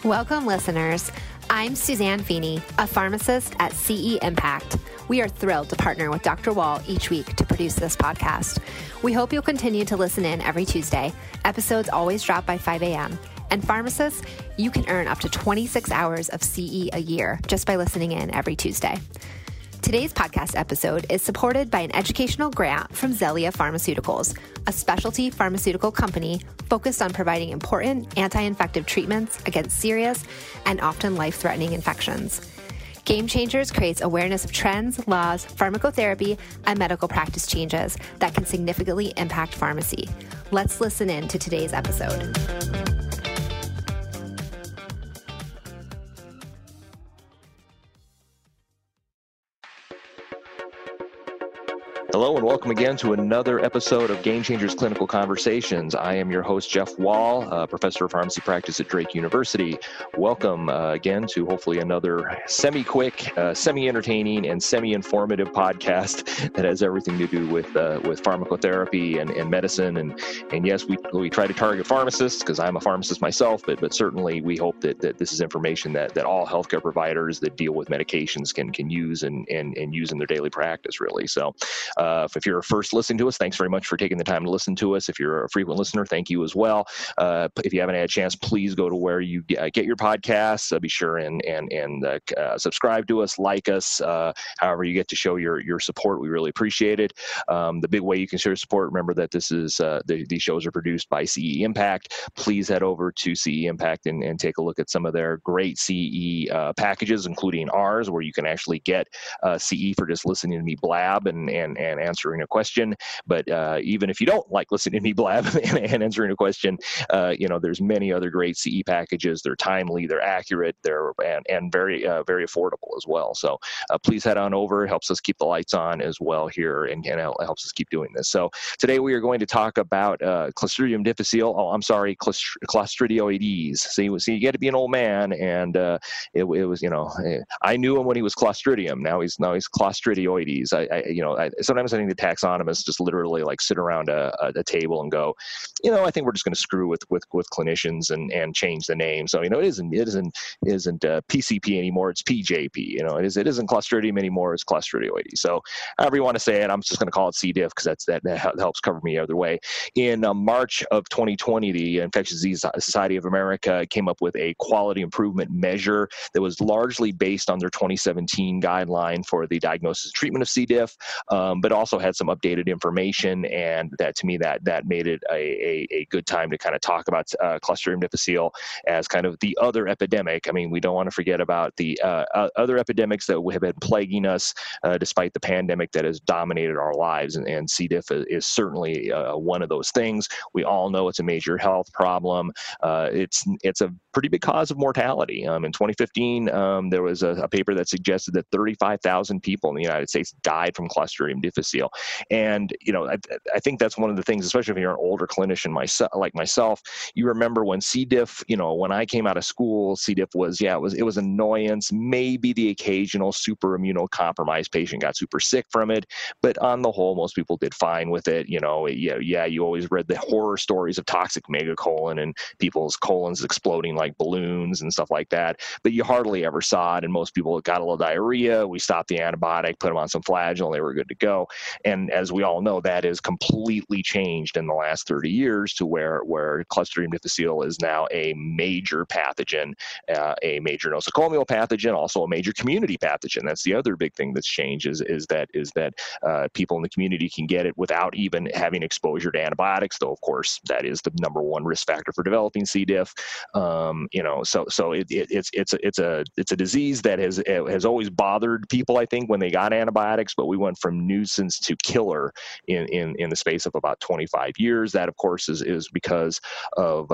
Welcome, listeners. I'm Suzanne Feeney, a pharmacist at CE Impact. We are thrilled to partner with Dr. Wall each week to produce this podcast. We hope you'll continue to listen in every Tuesday. Episodes always drop by 5 a.m. And pharmacists, you can earn up to 26 hours of CE a year just by listening in every Tuesday. Today's podcast episode is supported by an educational grant from Xellia Pharmaceuticals, a specialty pharmaceutical company focused on providing important anti-infective treatments against serious and often life-threatening infections. Game Changers creates awareness of trends, laws, pharmacotherapy, and medical practice changes that can significantly impact pharmacy. Let's listen in to today's episode. Hello and welcome again to another episode of Game Changers Clinical Conversations. I am your host, Jeff Wall, professor of pharmacy practice at Drake University. Welcome again to hopefully another semi-quick, semi-entertaining, and semi-informative podcast that has everything to do with pharmacotherapy and medicine. And yes, we try to target pharmacists because I'm a pharmacist myself, but certainly we hope that this is information that all healthcare providers that deal with medications can use and use in their daily practice, really. So if you're first listening to us, thanks very much for taking the time to listen to us. If you're a frequent listener, thank you as well. If you haven't had a chance, please go to where you get your podcasts. Be sure and subscribe to us, like us, however you get to show your support. We really appreciate it. The big way you can show your support, remember that this is these shows are produced by CE Impact. Please head over to CE Impact and take a look at some of their great CE packages, including ours, where you can actually get CE for just listening to me blab and answering a question. But even if you don't like listening to me blab and answering a question, there's many other great CE packages. They're timely, they're accurate, they're very very affordable as well. So please head on over. It helps us keep the lights on as well here, and it helps us keep doing this. So today we are going to talk about Clostridium difficile. Oh, I'm sorry, Clostridioides. See, you get to be an old man, and it was, I knew him when he was Clostridium. Now he's Clostridioides. Sometimes I think the taxonomists just literally like sit around a table and go, I think we're just going to screw with clinicians and change the name. So it isn't PCP anymore. It's PJP. It isn't Clostridium anymore. It's Clostridioides. So however you want to say it, I'm just going to call it C. diff because that helps cover me either way. In March of 2020, the Infectious Disease Society of America came up with a quality improvement measure that was largely based on their 2017 guideline for the diagnosis and treatment of C. diff. But also had some updated information, and that to me that made it a good time to kind of talk about Clostridium difficile as kind of the other epidemic. I mean, we don't want to forget about the other epidemics that have been plaguing us despite the pandemic that has dominated our lives, and C. diff is certainly one of those things. We all know it's a major health problem. It's a pretty big cause of mortality. In 2015, there was a paper that suggested that 35,000 people in the United States died from Clostridium difficile. And, I think that's one of the things, especially if you're an older clinician like myself, you remember when C. diff, when I came out of school, C. diff was annoyance. Maybe the occasional super immunocompromised patient got super sick from it, but on the whole, most people did fine with it. You always read the horror stories of toxic megacolon and people's colons exploding like balloons and stuff like that, but you hardly ever saw it, and most people got a little diarrhea. We stopped the antibiotic, put them on some Flagyl, and they were good to go. And as we all know, that is completely changed in the last 30 years to where Clostridium difficile is now a major pathogen, a major nosocomial pathogen, also a major community pathogen. That's the other big thing that's changed is that people in the community can get it without even having exposure to antibiotics, though of course that is the number one risk factor for developing C. diff. So it's a disease that has always bothered people, I think, when they got antibiotics, but we went from nuisance to killer in the space of about 25 years. That, of course, is because of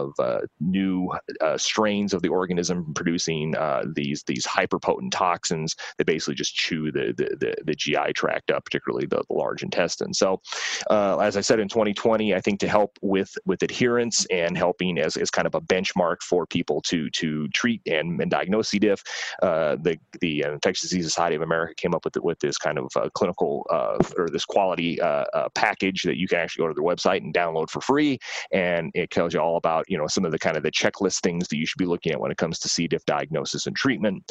new strains of the organism producing these hyperpotent toxins that basically just chew the GI tract up, particularly the large intestine. So, as I said, in 2020, I think to help with adherence and helping as kind of a benchmark for people to treat and diagnose C. diff. The Infectious Disease Society of America came up with this kind of clinical or this quality package that you can actually go to their website and download for free, and it tells you all about some of the kind of the checklist things that you should be looking at when it comes to C. diff diagnosis and treatment.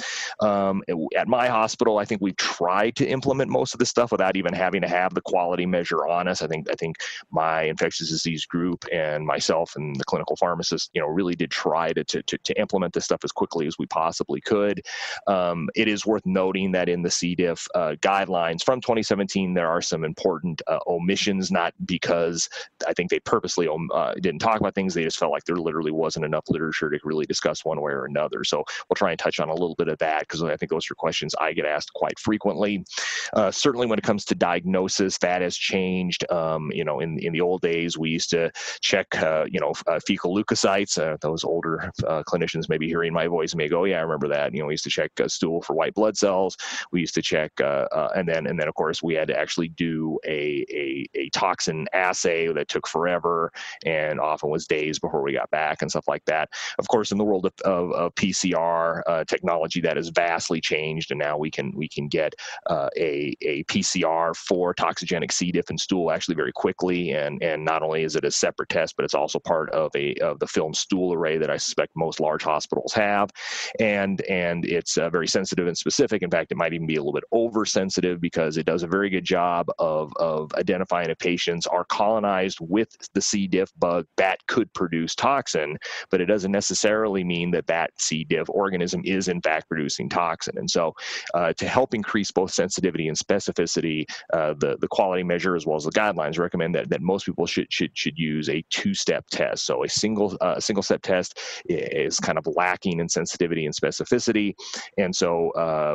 At my hospital, I think we've tried to implement most of this stuff without even having to have the quality measure on us. I think my infectious disease group and myself and the clinical pharmacist, really did try to implement this stuff as quickly as we possibly could. It is worth noting that in the C. diff guidelines from 2017, there are some important omissions, not because I think they purposely didn't talk about things. They just felt like there literally wasn't enough literature to really discuss one way or another. So we'll try and touch on a little bit of that, because I think those are questions I get asked quite frequently. Certainly when it comes to diagnosis, that has changed. In the old days, we used to check, fecal leukocytes. Those older clinicians may be hearing my voice and may go, yeah, I remember that. We used to check stool for white blood cells. We used to check, and then of course we had to actually do a toxin assay that took forever and often was days before we got back and stuff like that. Of course, in the world of PCR technology, that has vastly changed, and now we can get a PCR for toxigenic C. diff and stool actually very quickly, and not only is it a separate test, but it's also part of the film stool array that I suspect most large hospitals have, and it's very sensitive and specific. In fact, it might even be a little bit oversensitive, because it does a very good job of identifying if patients are colonized with the C. diff bug that could produce toxin, but it doesn't necessarily mean that C. diff organism is in fact producing toxin. And so to help increase both sensitivity and specificity, the quality measure as well as the guidelines recommend that most people should use a two-step test. So a single step test is kind of lacking in sensitivity and specificity. And so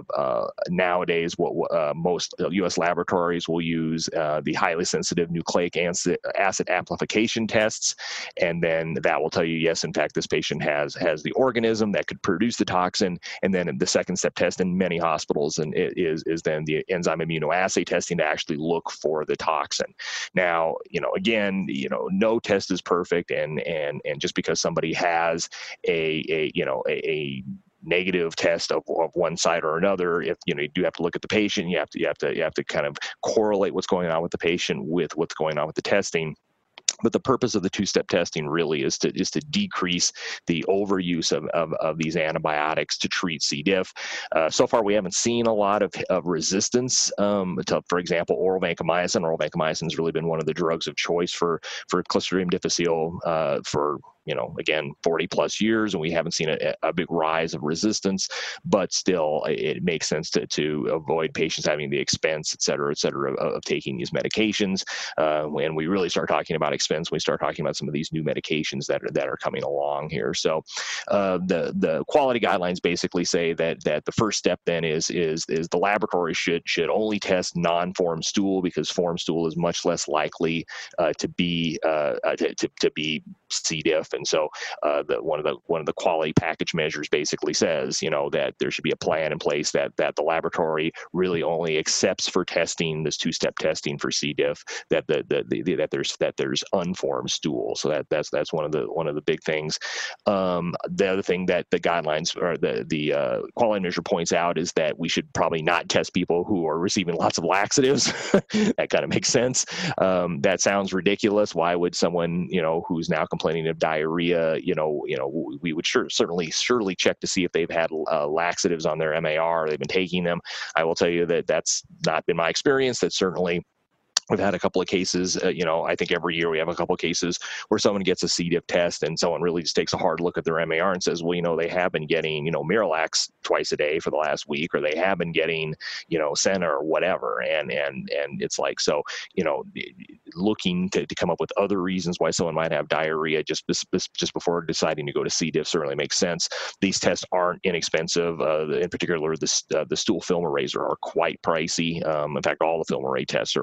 nowadays, what most U.S. laboratories will use the highly sensitive nucleic acid amplification tests, and then that will tell you, yes, in fact, this patient has the organism that could produce the toxin. And then the second step test in many hospitals and is then the enzyme immunoassay testing to actually look for the toxin. Now, again, no test is perfect, and just because somebody has a negative test of one side or another, if you do have to look at the patient, you have to kind of correlate what's going on with the patient with what's going on with the testing. But the purpose of the two-step testing really is to decrease the overuse of these antibiotics to treat C. diff. So far, we haven't seen a lot of resistance to, for example, oral vancomycin. Oral vancomycin has really been one of the drugs of choice for Clostridium difficile for again, 40 plus years, and we haven't seen a big rise of resistance, but still it makes sense to avoid patients having the expense, et cetera, of taking these medications. When we really start talking about expense, we start talking about some of these new medications that are coming along here. So the quality guidelines basically say that the first step then is the laboratory should only test non-form stool, because form stool is much less likely to be C. diff. And so one of the quality package measures basically says, that there should be a plan in place that the laboratory really only accepts for testing this two-step testing for C. diff, that there's unformed stool. So that's one of the big things. The other thing that the guidelines or the quality measure points out is that we should probably not test people who are receiving lots of laxatives. That kind of makes sense. That sounds ridiculous. Why would someone who's now complaining of diarrhea, we would surely check to see if they've had laxatives on their MAR, they've been taking them. I will tell you that that's not been my experience. That certainly we've had a couple of cases, I think every year we have a couple of cases where someone gets a C. diff test and someone really just takes a hard look at their MAR and says, well, they have been getting, Miralax twice a day for the last week, or they have been getting, Senna or whatever. And it's like, so, looking to come up with other reasons why someone might have diarrhea just before deciding to go to C. diff certainly makes sense. These tests aren't inexpensive. In particular, the stool film arrays are quite pricey. In fact, all the film array tests are quite pricey.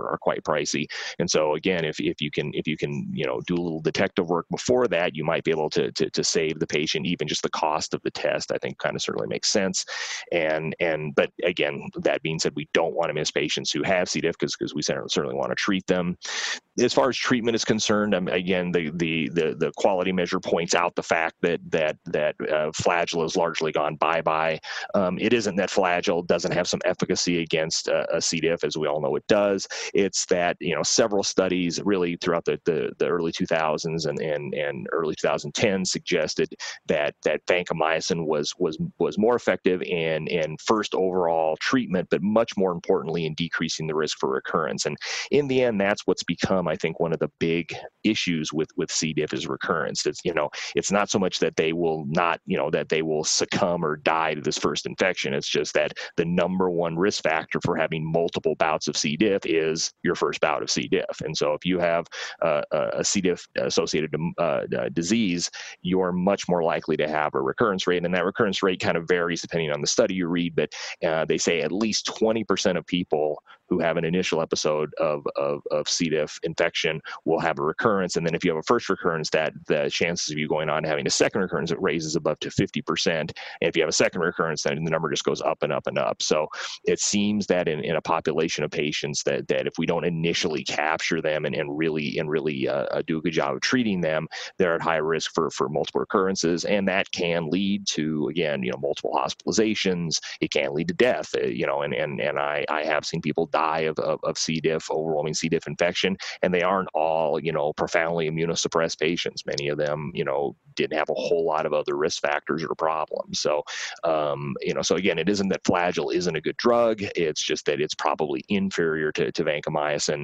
pricey. And so again, if you can do a little detective work before that, you might be able to save the patient even just the cost of the test. I think kind of certainly makes sense. But again, that being said, we don't want to miss patients who have C. diff because we certainly want to treat them. As far as treatment is concerned, again, the quality measure points out the fact that Flagyl has largely gone bye-bye. It isn't that Flagyl doesn't have some efficacy against a C. diff, as we all know it does. It's that several studies really throughout the early 2000s and early 2010s suggested that vancomycin was more effective in first overall treatment, but much more importantly in decreasing the risk for recurrence. And in the end, that's what's become, I think, one of the big issues with C. diff is recurrence. It's not so much that they will not, that they will succumb or die to this first infection. It's just that the number one risk factor for having multiple bouts of C. diff is your first bout of C. diff. And so if you have a C. diff associated disease, you're much more likely to have a recurrence rate. And that recurrence rate kind of varies depending on the study you read, but they say at least 20% of people who have an initial episode of C. diff infection will have a recurrence. And then if you have a first recurrence, that the chances of you going on and having a second recurrence, it raises above to 50%. And if you have a second recurrence, then the number just goes up and up and up. So it seems that in a population of patients that if we don't initially capture them and really do a good job of treating them, they're at high risk for multiple recurrences. And that can lead to, again, multiple hospitalizations. It can lead to death, and I have seen people die of C. diff, overwhelming C. diff infection, and they aren't all, profoundly immunosuppressed patients. Many of them, didn't have a whole lot of other risk factors or problems. So, so again, it isn't that Flagyl isn't a good drug. It's just that it's probably inferior to vancomycin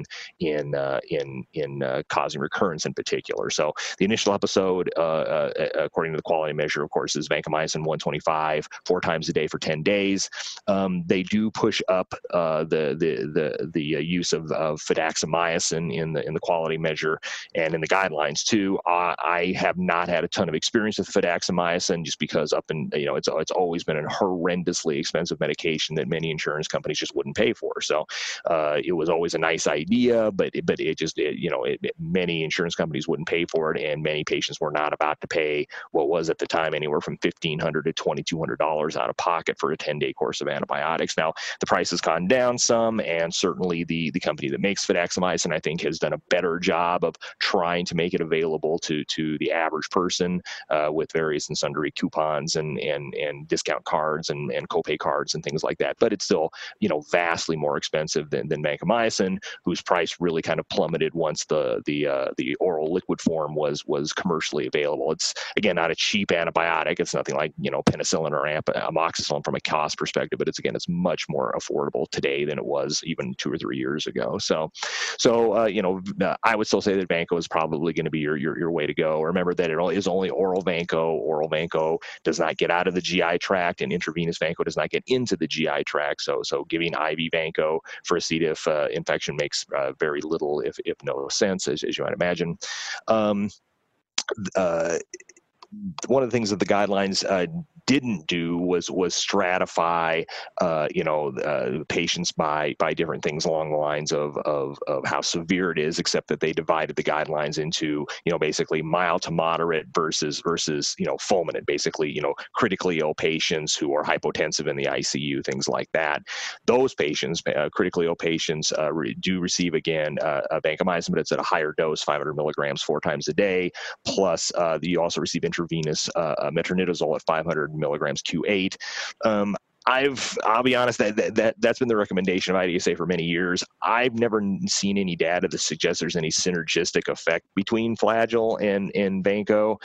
in causing recurrence in particular. So the initial episode, according to the quality measure, of course, is vancomycin 125 4 times a day for 10 days. They do push up the use of fidaxomicin in the quality measure and in the guidelines too. I have not had a ton of experience with fidaxomicin just because it's always been a horrendously expensive medication that many insurance companies just wouldn't pay for. So it was always a nice idea, but many insurance companies wouldn't pay for it, and many patients were not about to pay what was at the time anywhere from $1,500 to $2,200 out of pocket for a 10-day course of antibiotics. Now the price has gone down some, and certainly the company that makes fidaxomicin, I think, has done a better job of trying to make it available to the average person with various and sundry coupons and discount cards and copay cards and things like that. But it's still vastly more expensive than vancomycin, whose price really kind of plummeted once the oral liquid form was commercially available. It's again not a cheap antibiotic. It's nothing like penicillin or amoxicillin from a cost perspective, but it's much more affordable today than it was even 2 or 3 years ago. So I would still say that Vanco is probably going to be your way to go. Remember that it is only oral Vanco. Oral Vanco does not get out of the GI tract, and intravenous Vanco does not get into the GI tract. So giving IV Vanco for a C. diff infection makes very little, if no sense, as you might imagine. One of the things that the guidelines didn't do was stratify, patients by different things along the lines of how severe it is, except that they divided the guidelines into, basically mild to moderate versus fulminant, basically, critically ill patients who are hypotensive in the ICU, things like that. Those patients, critically ill patients, do receive, again, vancomycin, but it's at a higher dose, 500 milligrams 4 times a day. Plus, you also receive intravenous metronidazole at 500 milligrams Q8. I'll be honest, that's been the recommendation of IDSA for many years. I've never seen any data that suggests there's any synergistic effect between Flagyl and Vanco,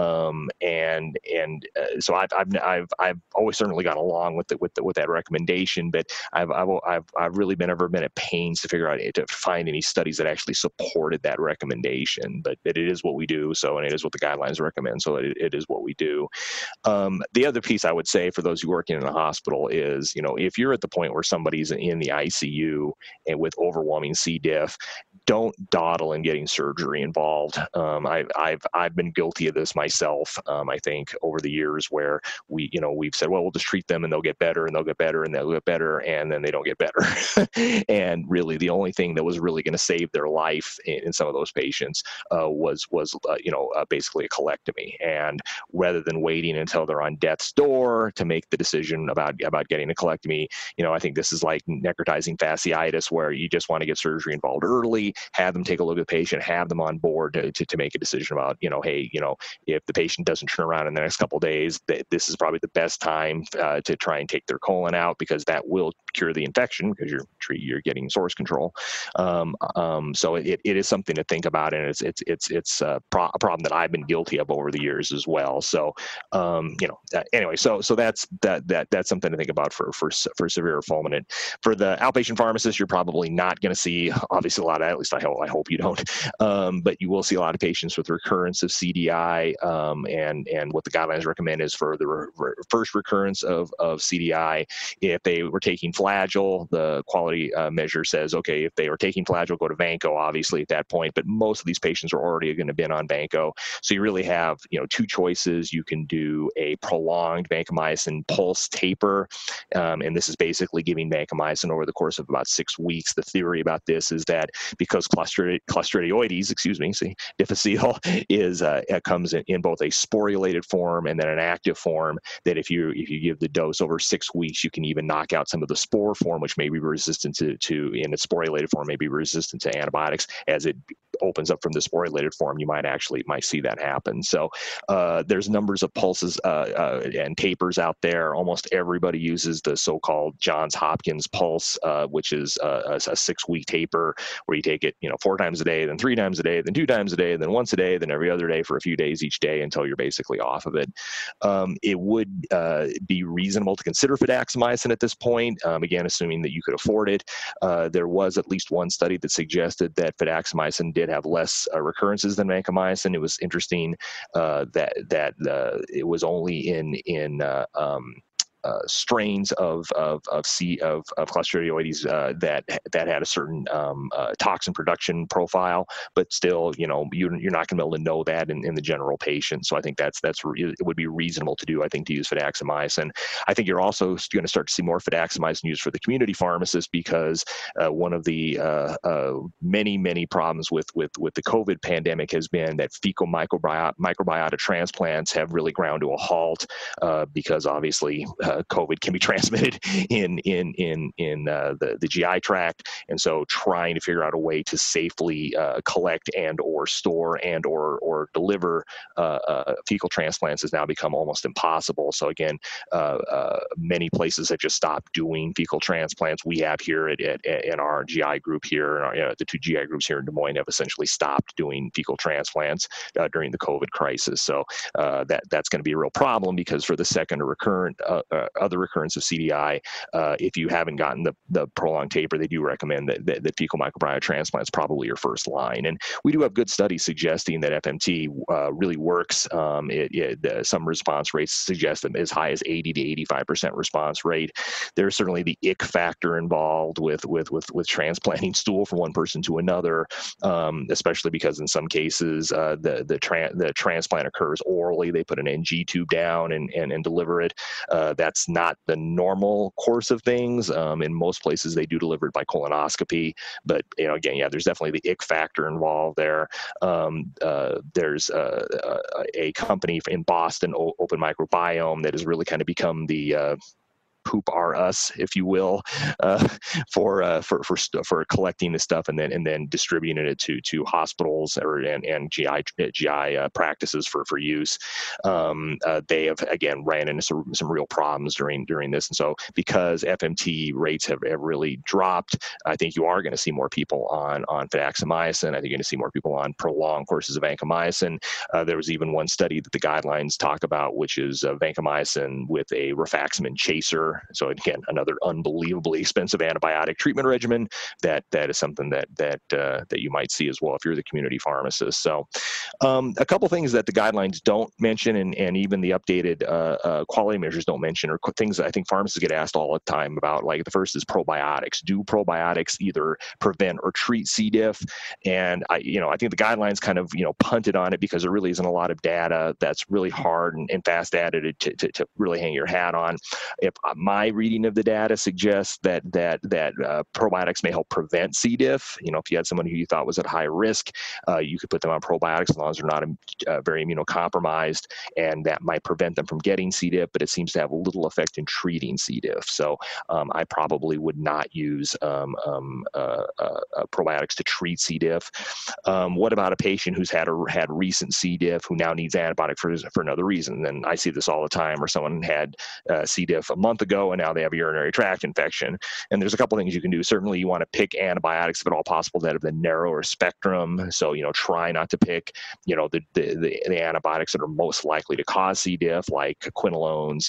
so I've always certainly gone along with that recommendation, but I've really never been at pains to figure out to find any studies that actually supported that recommendation. But it is what we do, and it is what the guidelines recommend, so it is what we do. The other piece I would say for those who work in a hospital is, if you're at the point where somebody's in the ICU and with overwhelming C. diff, don't dawdle in getting surgery involved. I've been guilty of this myself. I think over the years where we've said, well, we'll just treat them and they'll get better and they'll get better and they'll get better, and then they don't get better. And really, the only thing that was really going to save their life in some of those patients was basically a colectomy. And rather than waiting until they're on death's door to make the decision about getting a colectomy, I think this is like necrotizing fasciitis, where you just want to get surgery involved early, have them take a look at the patient, have them on board to make a decision about, hey, if the patient doesn't turn around in the next couple of days, this is probably the best time to try and take their colon out, because that will cure the infection, because you're getting source control. So it is something to think about, and it's a problem that I've been guilty of over the years as well. So anyway, so that's something to think about for severe fulminant. For the outpatient pharmacist, you're probably not going to see, obviously, a lot of, at least I hope you don't, but you will see a lot of patients with recurrence of CDI, and what the guidelines recommend is for the first recurrence of CDI, if they were taking Flagyl, the quality measure says, okay, if they were taking Flagyl, go to Vanco, obviously, at that point, but most of these patients are already going to have been on Vanco. So you really have, two choices. You can do a prolonged vancomycin pulse taper, and this is basically giving vancomycin over the course of about 6 weeks. The theory about this is that because Clostridioides, difficile comes in both a sporulated form and then an active form, that if you give the dose over 6 weeks, you can even knock out some of the spore form, which may be resistant to in its sporulated form, may be resistant to antibiotics. As it opens up from the sporulated form, you might see that happen. So there's numbers of pulses and tapers out there. Almost everybody uses the so-called Johns Hopkins pulse, which is a 6-week taper where you take it 4 times a day, then 3 times a day, then 2 times a day, then once a day, then every other day for a few days each day until you're basically off of it. It would be reasonable to consider fidaxomicin at this point, again, assuming that you could afford it. There was at least one study that suggested that fidaxomicin did have less recurrences than vancomycin. It was interesting that it was only in strains of Clostridioides that had a certain toxin production profile, but still, you're not going to be able to know that in the general patient. So I think it would be reasonable to do. I think to use fidaxomicin. I think you're also going to start to see more fidaxomicin used for the community pharmacist, because one of the many problems with the COVID pandemic has been that fecal microbiota transplants have really ground to a halt, because obviously COVID can be transmitted in the GI tract, and so trying to figure out a way to safely collect and or store and or deliver fecal transplants has now become almost impossible. So again, many places have just stopped doing fecal transplants. We have here in our GI group here, the 2 GI groups here in Des Moines have essentially stopped doing fecal transplants during the COVID crisis. So that's going to be a real problem, because for the second or other recurrence of CDI, if you haven't gotten the prolonged taper, they do recommend that fecal microbiota transplant is probably your first line. And we do have good studies suggesting that FMT really works. Some response rates suggest them as high as 80 to 85% response rate. There's certainly the ick factor involved with transplanting stool from one person to another, especially because in some cases the transplant occurs orally. They put an NG tube down and deliver it. That's not the normal course of things. In most places, they do deliver it by colonoscopy. But again, there's definitely the ick factor involved there. There's a company in Boston, Open Microbiome, that has really kind of become the poop are us, if you will, for collecting this stuff and then distributing it to hospitals and GI practices for use. They have again ran into some real problems during this, and so because FMT rates have really dropped, I think you are going to see more people on fidaxomicin. I think you're going to see more people on prolonged courses of vancomycin. There was even one study that the guidelines talk about, which is vancomycin with a rifaximin chaser. before. So again, another unbelievably expensive antibiotic treatment regimen that is something that you might see as well if you're the community pharmacist. So a couple things that the guidelines don't mention, and even the updated quality measures don't mention, are things that I think pharmacists get asked all the time about. Like the first is probiotics. Do probiotics either prevent or treat C. diff? And I think the guidelines kind of punted on it because there really isn't a lot of data that's really hard and fast data to really hang your hat on. If my reading of the data suggests that probiotics may help prevent C. diff, if you had someone who you thought was at high risk, you could put them on probiotics as long as they're not very immunocompromised, and that might prevent them from getting C. diff, but it seems to have little effect in treating C. diff. So I probably would not use probiotics to treat C. diff. What about a patient who's had recent C. diff who now needs antibiotic for another reason? And I see this all the time, where someone had C. diff a month ago and now they have a urinary tract infection. And there's a couple things you can do. Certainly you want to pick antibiotics, if at all possible, that have the narrower spectrum. So, try not to pick, the antibiotics that are most likely to cause C. diff, like quinolones,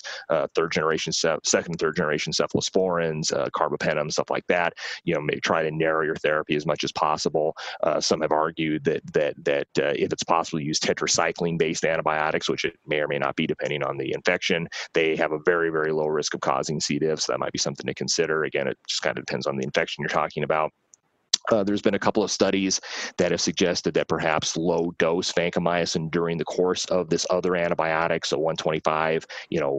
second and third generation cephalosporins, carbapenem, stuff like that. Maybe try to narrow your therapy as much as possible. Some have argued that if it's possible to use tetracycline-based antibiotics, which it may or may not be depending on the infection, they have a very, very low risk of causing C. diff, so that might be something to consider. Again, it just kind of depends on the infection you're talking about. There's been a couple of studies that have suggested that perhaps low-dose vancomycin during the course of this other antibiotic, so 125,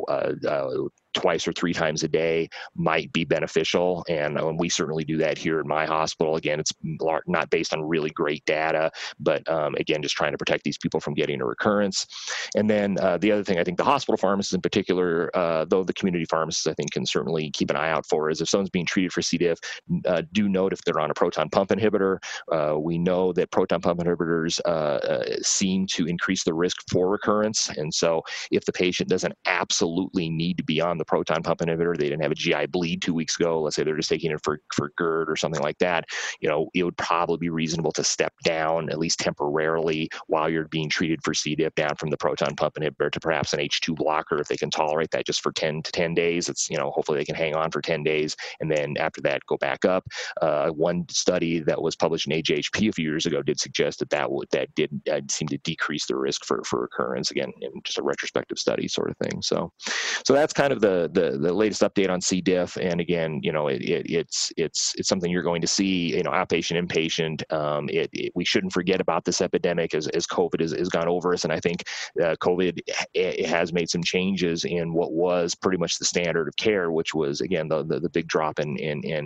twice or three times a day, might be beneficial. And we certainly do that here in my hospital. Again, it's not based on really great data, but again, just trying to protect these people from getting a recurrence. And then the other thing I think the hospital pharmacists in particular, though the community pharmacists I think can certainly keep an eye out for, is if someone's being treated for C. diff, do note if they're on a proton pump inhibitor. We know that proton pump inhibitors seem to increase the risk for recurrence. And so if the patient doesn't absolutely need to be on the proton pump inhibitor, they didn't have a GI bleed 2 weeks ago, let's say they're just taking it for GERD or something like that, it would probably be reasonable to step down, at least temporarily, while you're being treated for C. diff, down from the proton pump inhibitor to perhaps an H2 blocker if they can tolerate that, just for 10 to 10 days. It's, hopefully they can hang on for 10 days, and then after that, go back up. One study that was published in AJHP a few years ago did suggest that did seem to decrease the risk for recurrence, again, in just a retrospective study sort of thing. So that's kind of the latest update on C. diff. And again, it's something you're going to see, outpatient, inpatient. We shouldn't forget about this epidemic as COVID has gone over us. And I think COVID has made some changes in what was pretty much the standard of care, which was, again, the big drop in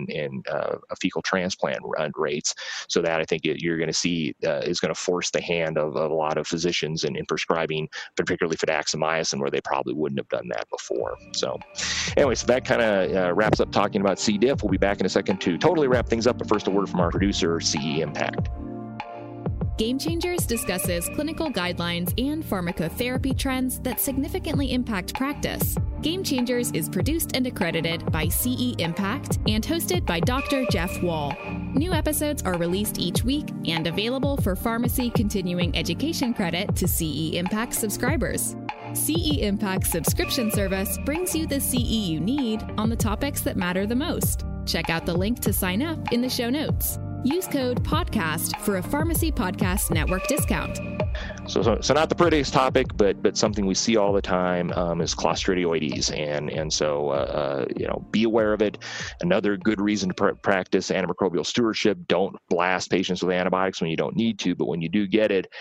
fecal transplant rates. So that I think you're going to see is going to force the hand of a lot of physicians in prescribing, particularly fidaxomicin, where they probably wouldn't have done that before. So anyway, so that kind of wraps up talking about C. diff. We'll be back in a second to totally wrap things up, but first a word from our producer, CE Impact. Game Changers discusses clinical guidelines and pharmacotherapy trends that significantly impact practice. Game Changers is produced and accredited by CE Impact and hosted by Dr. Jeff Wall. New episodes are released each week and available for pharmacy continuing education credit to CE Impact subscribers. CE Impact's subscription service brings you the CE you need on the topics that matter the most. Check out the link to sign up in the show notes. Use code PODCAST for a Pharmacy Podcast Network discount. So not the prettiest topic, but something we see all the time is Clostridioides, and so be aware of it. Another good reason to practice antimicrobial stewardship: don't blast patients with antibiotics when you don't need to, but when you do get it,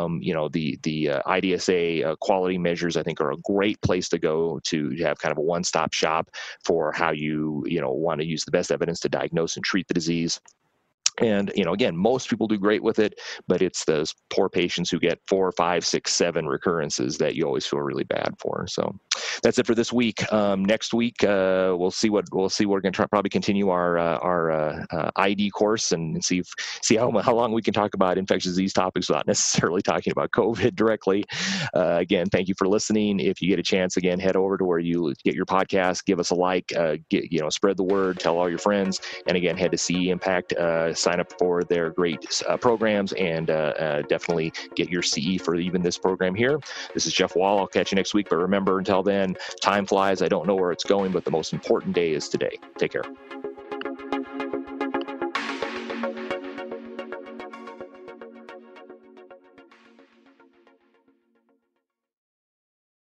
the IDSA quality measures I think are a great place to go to have kind of a one-stop shop for how you want to use the best evidence to diagnose and treat the disease. And, again, most people do great with it, but it's those poor patients who get 4, 5, 6, 7 recurrences that you always feel really bad for. So that's it for this week. Next week, we'll see. We're going to probably continue our ID course and see how long we can talk about infectious disease topics without necessarily talking about COVID directly. Again, thank you for listening. If you get a chance, again, head over to where you get your podcast, give us a like, spread the word, tell all your friends, and again, head to CE Impact. sign up for their great programs and definitely get your CE for even this program here. This is Jeff Wall. I'll catch you next week. But remember, until then, time flies. I don't know where it's going, but the most important day is today. Take care.